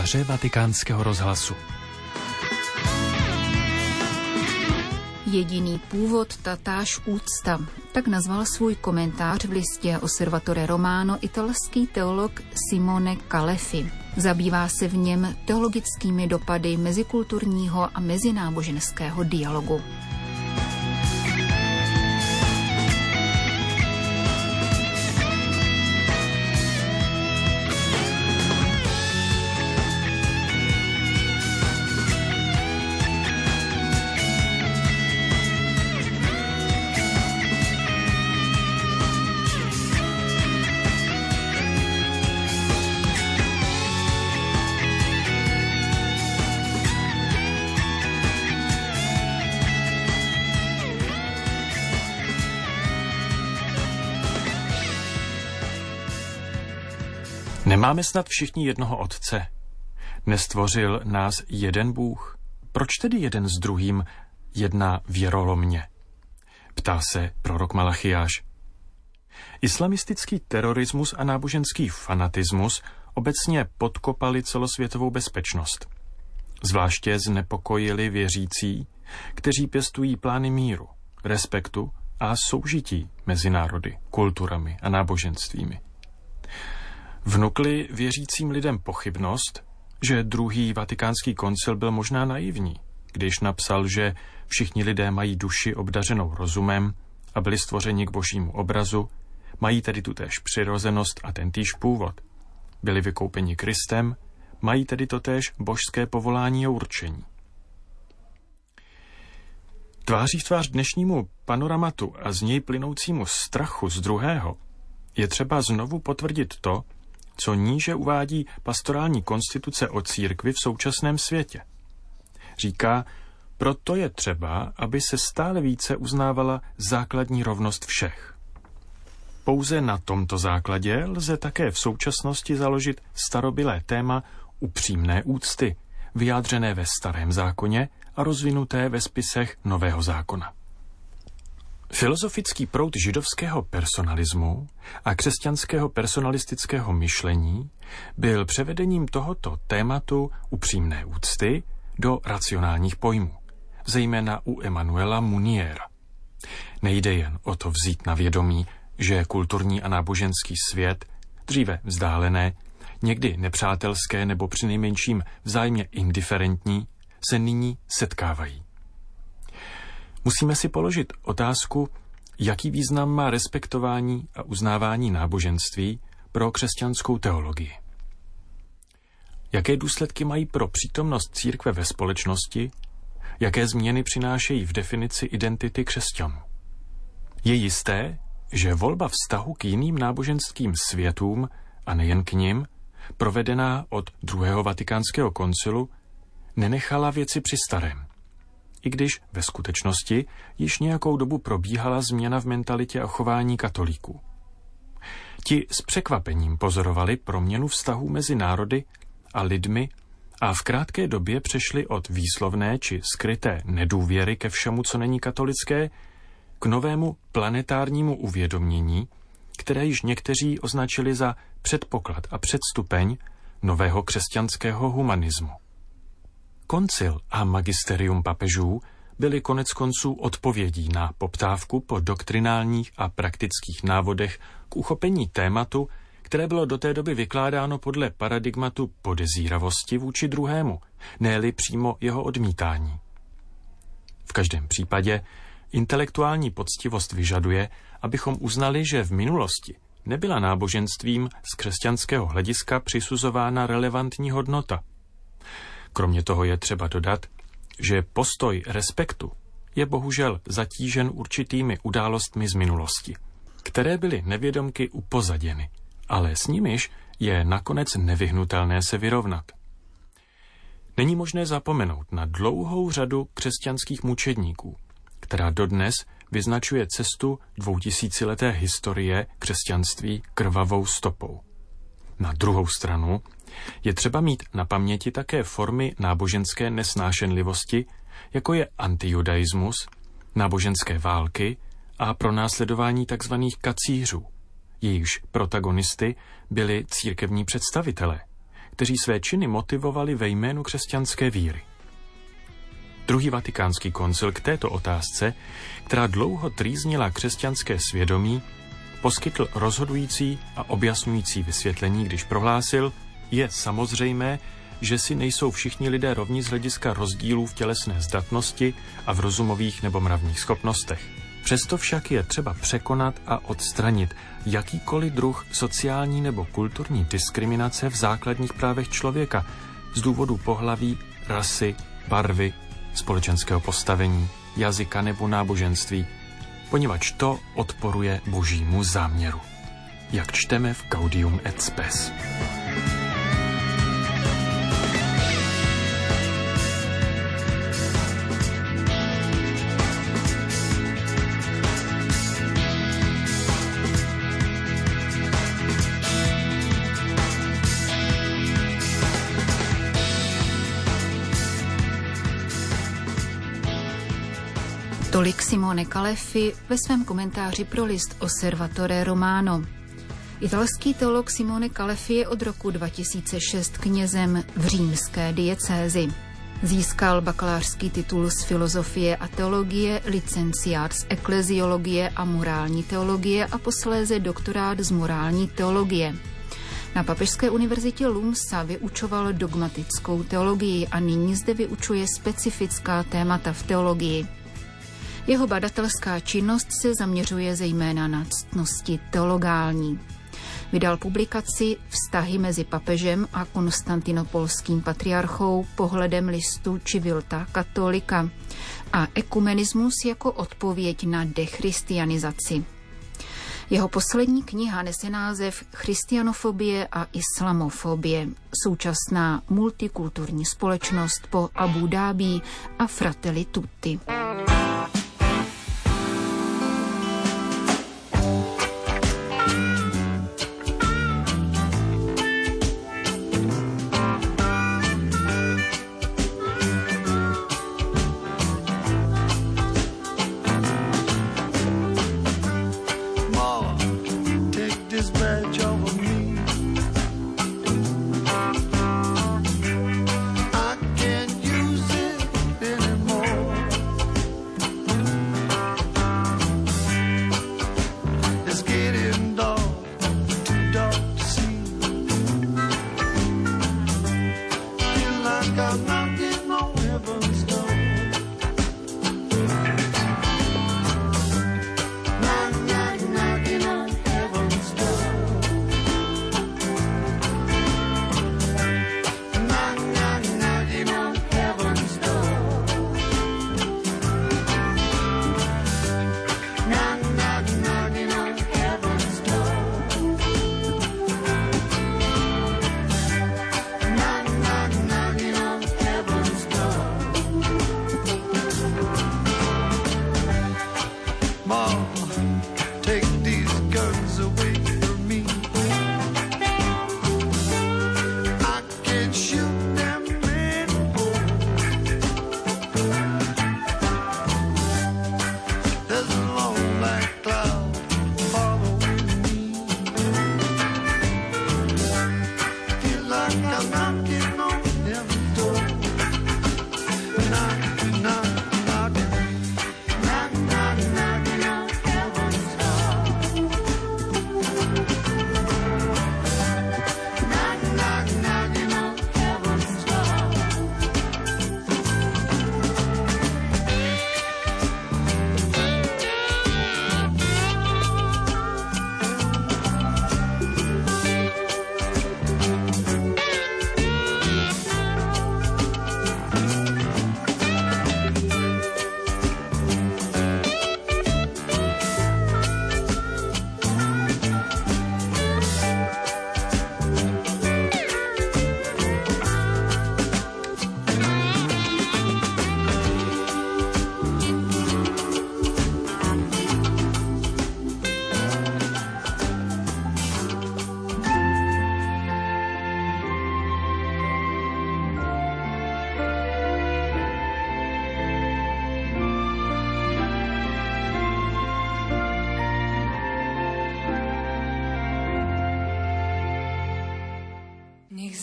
komentáře Vatikánského rozhlasu. Jediný původ, tatáž úcta. Tak nazval svůj komentář v listě Osservatore Romano italský teolog Simone Calefi. Zabývá se v něm teologickými dopady mezikulturního a mezináboženského dialogu. Nemáme snad všichni jednoho Otce? Nestvořil nás jeden Bůh? Proč tedy jeden s druhým jedná věrolomně? Ptá se prorok Malachiáš. Islamistický terorismus a náboženský fanatismus obecně podkopali celosvětovou bezpečnost. Zvláště znepokojili věřící, kteří pěstují plány míru, respektu a soužití mezi národy, kulturami a náboženstvími. Vnukli věřícím lidem pochybnost, že druhý vatikánský koncil byl možná naivní, když napsal, že všichni lidé mají duši obdařenou rozumem a byli stvořeni k božímu obrazu, mají tedy tutéž přirozenost a tentýž původ. Byli vykoupeni Kristem, mají tedy totéž božské povolání a určení. Tváří v tvář dnešnímu panoramatu a z něj plynoucímu strachu z druhého je třeba znovu potvrdit to, co níže uvádí pastorální konstituce o církvi v současném světě. Říká, proto je třeba, aby se stále více uznávala základní rovnost všech. Pouze na tomto základě lze také v současnosti založit starobylé téma upřímné úcty, vyjádřené ve Starém zákoně a rozvinuté ve spisech Nového zákona. Filozofický proud židovského personalismu a křesťanského personalistického myšlení byl převedením tohoto tématu upřímné úcty do racionálních pojmů, zejména u Emanuela Muniera. Nejde jen o to vzít na vědomí, že kulturní a náboženský svět, dříve vzdálené, někdy nepřátelské nebo přinejmenším vzájemně indiferentní, se nyní setkávají. Musíme si položit otázku, jaký význam má respektování a uznávání náboženství pro křesťanskou teologii. Jaké důsledky mají pro přítomnost církve ve společnosti, jaké změny přinášejí v definici identity křesťanů. Je jisté, že volba vztahu k jiným náboženským světům a nejen k nim, provedená od druhého vatikánského koncilu, nenechala věci při starém. I když ve skutečnosti již nějakou dobu probíhala změna v mentalitě a chování katolíků. Ti s překvapením pozorovali proměnu vztahů mezi národy a lidmi a v krátké době přešli od výslovné či skryté nedůvěry ke všemu, co není katolické, k novému planetárnímu uvědomění, které již někteří označili za předpoklad a předstupeň nového křesťanského humanismu. Koncil a magisterium papežů byly koneckonců odpovědí na poptávku po doktrinálních a praktických návodech k uchopení tématu, které bylo do té doby vykládáno podle paradigmatu podezíravosti vůči druhému, ne-li přímo jeho odmítání. V každém případě intelektuální poctivost vyžaduje, abychom uznali, že v minulosti nebyla náboženstvím z křesťanského hlediska přisuzována relevantní hodnota. Kromě toho je třeba dodat, že postoj respektu je bohužel zatížen určitými událostmi z minulosti, které byly nevědomky upozaděny, ale s nimiž je nakonec nevyhnutelné se vyrovnat. Není možné zapomenout na dlouhou řadu křesťanských mučedníků, která dodnes vyznačuje cestu 2000leté historie křesťanství krvavou stopou. Na druhou stranu je třeba mít na paměti také formy náboženské nesnášenlivosti, jako je antijudaismus, náboženské války a pronásledování tzv. Kacířů. Jejichž protagonisty byli církevní představitelé, kteří své činy motivovali ve jménu křesťanské víry. Druhý vatikánský koncil k této otázce, která dlouho trýznila křesťanské svědomí, poskytl rozhodující a objasňující vysvětlení, když prohlásil, je samozřejmé, že si nejsou všichni lidé rovni z hlediska rozdílů v tělesné zdatnosti a v rozumových nebo mravních schopnostech. Přesto však je třeba překonat a odstranit jakýkoliv druh sociální nebo kulturní diskriminace v základních právech člověka z důvodu pohlaví, rasy, barvy, společenského postavení, jazyka nebo náboženství, poněvadž to odporuje božímu záměru. Jak čteme v Gaudium et Spes. Tolik Simone Calefi ve svém komentáři pro list Osservatore Romano. Italský teolog Simone Calefi je od roku 2006 knězem v římské diecézi. Získal bakalářský titul z filozofie a teologie, licenciát z ekleziologie a morální teologie a posléze doktorát z morální teologie. Na Papežské univerzitě Lumsa vyučoval dogmatickou teologii a nyní zde vyučuje specifická témata v teologii. Jeho badatelská činnost se zaměřuje zejména na ctnosti teologální. Vydal publikaci Vztahy mezi papežem a konstantinopolským patriarchou pohledem listu Civiltà Cattolica a ekumenismus jako odpověď na dechristianizaci. Jeho poslední kniha nese název Christianofobie a islamofobie, současná multikulturní společnost po Abu Dhabi a Fratelli Tutti. Mom.